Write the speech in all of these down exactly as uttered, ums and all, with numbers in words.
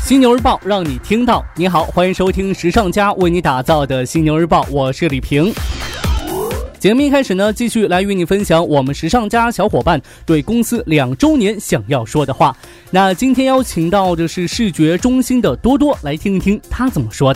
犀牛日报让你听到。你好，欢迎收听时尚家为你打造的犀牛日报，我是李平。节目一开始呢，继续来与你分享我们时尚家小伙伴对公司两周年想要说的话。那今天邀请到的是视觉中心的多多，来听一听他怎么说的。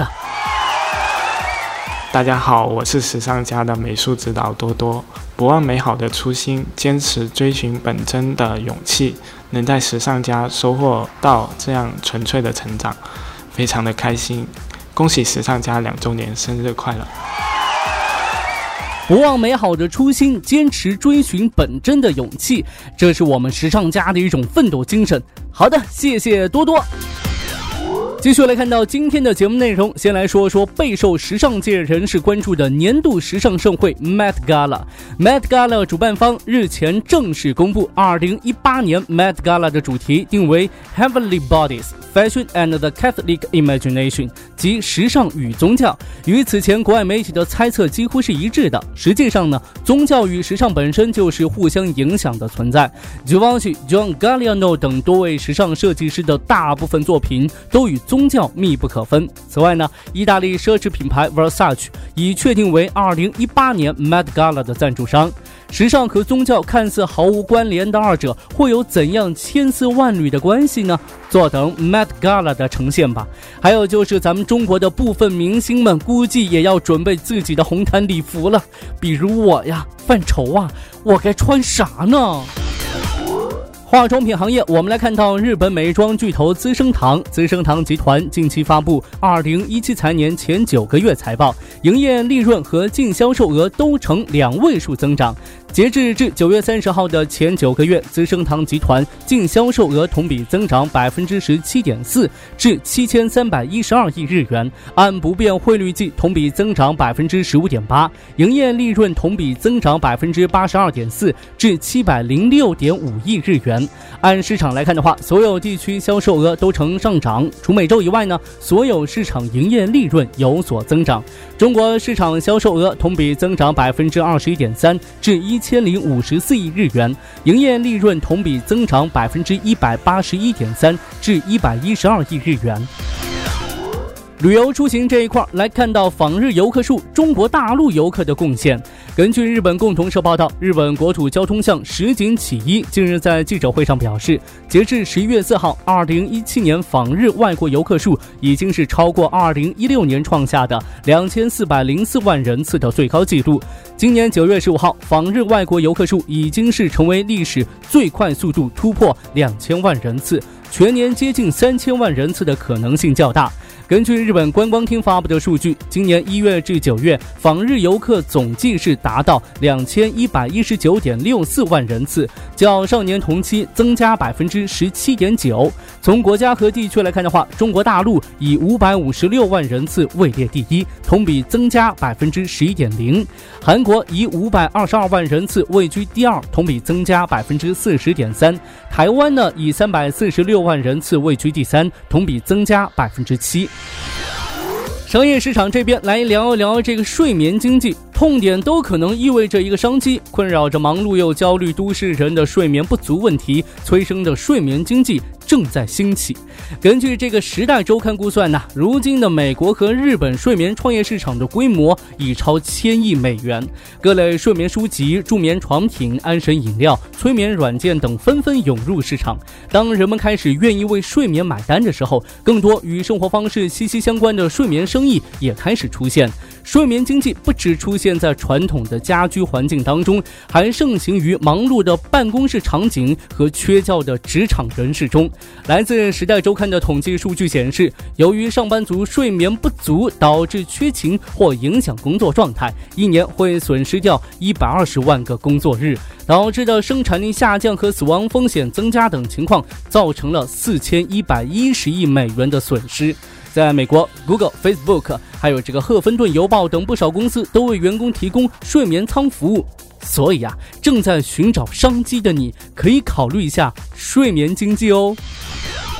大家好，我是时尚家的美术指导多多。不忘美好的初心，坚持追寻本真的勇气，能在时尚家收获到这样纯粹的成长，非常的开心。恭喜时尚家两周年生日快乐！ 不忘美好的初心，坚持追寻本真的勇气，这是我们时尚家的一种奋斗精神。好的，谢谢多多。继续来看到今天的节目内容，先来说说备受时尚界人士关注的年度时尚盛会 Met Gala。Met Gala 主办方日前正式公布，二零一八年 Met Gala 的主题定为 Heavenly Bodies, Fashion and the Catholic Imagination， 即时尚与宗教。与此前国外媒体的猜测几乎是一致的。实际上呢，宗教与时尚本身就是互相影响的存在。Givenchy、John Galliano 等多位时尚设计师的大部分作品都与宗教密不可分。此外呢，意大利奢侈品牌 Versace 已确定为二零一八年 Met Gala 的赞助商。时尚和宗教看似毫无关联的二者，会有怎样千丝万缕的关系呢？坐等 Met Gala 的呈现吧。还有就是咱们中国的部分明星们，估计也要准备自己的红毯礼服了。比如我呀，犯愁啊，我该穿啥呢？化妆品行业，我们来看到日本美妆巨头资生堂，资生堂集团近期发布二零一七财年前九个月财报，营业利润和净销售额都呈两位数增长。截至至九月三十号的前九个月，资生堂集团净销售额同比增长百分之十七点四，至七千三百一十二亿日元，按不变汇率计，同比增长百分之十五点八，营业利润同比增长百分之八十二点四，至七百零六点五亿日元。按市场来看的话，所有地区销售额都呈上涨，除美洲以外呢，所有市场营业利润有所增长。中国市场销售额同比增长百分之二十一点三，至一千零五十四亿日元，营业利润同比增长百分之一百八十一点三，至一百一十二亿日元。旅游出行这一块来看到访日游客数，中国大陆游客的贡献。根据日本共同社报道，日本国土交通省石井启一近日在记者会上表示，截至十一月四号，二零一七年访日外国游客数已经是超过二零一六年创下的两千四百零四万人次的最高纪录。今年九月十五号，访日外国游客数已经是成为历史最快速度突破两千万人次，全年接近三千万人次的可能性较大。根据日本观光厅发布的数据，今年一月至九月访日游客总计是达到两千一百一十九点六四万人次，较上年同期增加百分之十七点九。从国家和地区来看的话，中国大陆以五百五十六万人次位列第一，同比增加百分之十一点零；韩国以五百二十二万人次位居第二，同比增加百分之四十点三；台湾呢以三百四十六万人次位居第三，同比增加百分之七。商业市场这边来聊一聊这个睡眠经济，痛点都可能意味着一个商机，困扰着忙碌又焦虑都市人的睡眠不足问题催生的睡眠经济正在兴起。根据这个时代周刊估算呢，如今的美国和日本睡眠创业市场的规模已超千亿美元，各类睡眠书籍、助眠床品、安神饮料、催眠软件等纷纷涌入市场。当人们开始愿意为睡眠买单的时候，更多与生活方式息息相关的睡眠生意也开始出现。睡眠经济不只出现在传统的家居环境当中，还盛行于忙碌的办公室场景和缺觉的职场人士中。来自时代周刊的统计数据显示，由于上班族睡眠不足导致缺勤或影响工作状态，一年会损失掉一百二十万个工作日，导致的生产力下降和死亡风险增加等情况，造成了四千一百一十亿美元的损失。在美国 Google、Facebook 还有这个赫芬顿邮报等不少公司都为员工提供睡眠舱服务，所以啊，正在寻找商机的你可以考虑一下睡眠经济哦。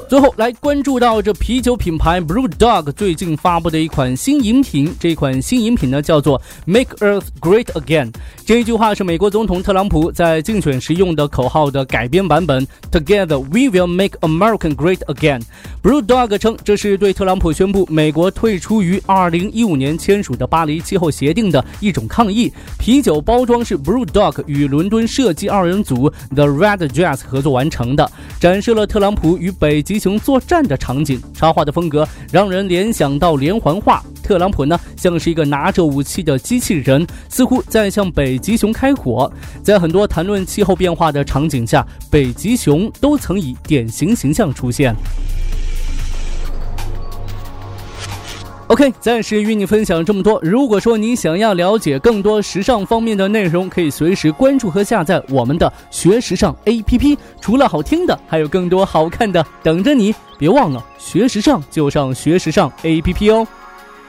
最后来关注到这啤酒品牌 BrewDog 最近发布的一款新饮品，这款新饮品呢叫做 Make Earth Great Again。 这一句话是美国总统特朗普在竞选时用的口号的改编版本， Together we will make America Great Again。 BrewDog 称这是对特朗普宣布美国退出于二零一五年签署的巴黎气候协定的一种抗议。啤酒包装是 BrewDog 与伦敦设计二人组 The Red Jazz 合作完成的，展示了特朗普与北极熊作战的场景。插画的风格让人联想到连环画，特朗普呢像是一个拿着武器的机器人，似乎在向北极熊开火。在很多谈论气候变化的场景下，北极熊都曾以典型形象出现。OK， 暂时与你分享这么多。如果说你想要了解更多时尚方面的内容，可以随时关注和下载我们的学时尚 A P P。 除了好听的，还有更多好看的等着你。别忘了学时尚就上学时尚 A P P 哦。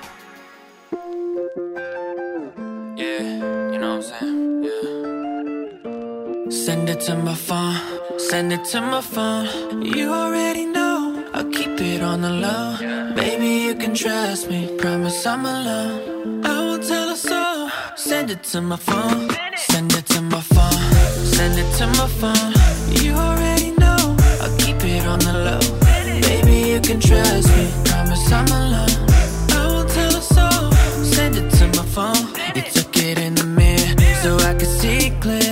Send it to my phone, send it to my phone. You already know, I'll keep it on the low. Baby, you can trust me, promise I'm alone. I won't tell a soul. Send it to my phone, send it to my phone, send it to my phone. You already know, I'll keep it on the low. Baby, you can trust me, promise I'm alone. I won't tell a soul. Send it to my phone. You took it in the mirror, so I could see clear.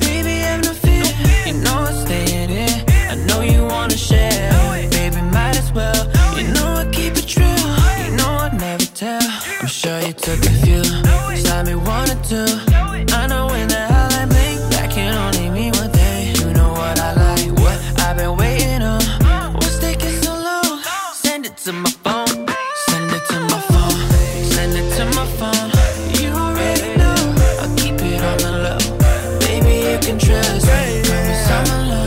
Share, baby, might as well. You know I keep it true. You know I'd never tell. I'm sure you took a few. Saw me one or two. I know when the hell I blink, that can only mean one thing. You know what I like, what I've been waiting on. What's taking so long? Send it to my phone. Send it to my phone. Send it to my phone. You already know I'll keep it on the low. Baby, you can trust me. Promise I'm alone.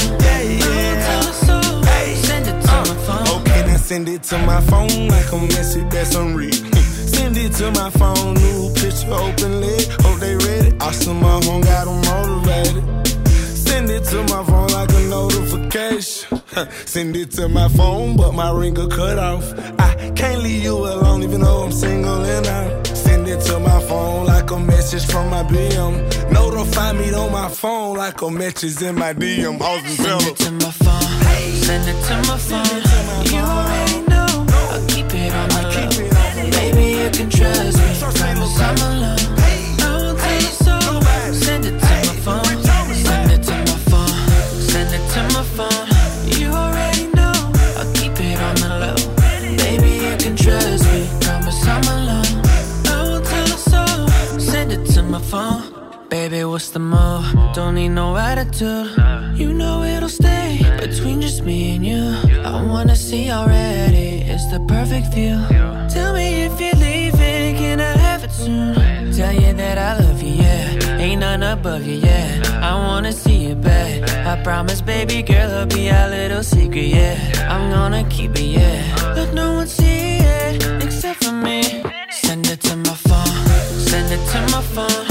Send it to my phone like a message that's unread. Send it to my phone, new picture openly. Hope they read it. Awesome, my phone got them motivated. Send it to my phone like a notification. Send it to my phone, but my ring got cut off. I can't leave you alone even though I'm single and out. Send it to my phone like a message from my B M. Notify me on my phone like a message in my D M. Send it to my phone. Send it to my phone. You already know I'll keep it on the low. Baby, you can trust me. Promise I'm alone. I won't tell you so. Send it to my phone. Send it to my phone. Send it to my phone. You already know I'll keep it on the low. Baby, you can trust me. Promise I'm alone. I won't tell you so. Send it to my phone. Baby, what's the move? Don't need no attitude. You know it'll stay between just me and you. I wanna see already, it's the perfect view. Tell me if you're leaving, can I have it soon? Tell you that I love you, yeah. Ain't none above you, yeah. I wanna see you back. I promise, baby girl, it'll be our little secret, yeah. I'm gonna keep it, yeah. Let no one see it except for me. Send it to my phone. Send it to my phone.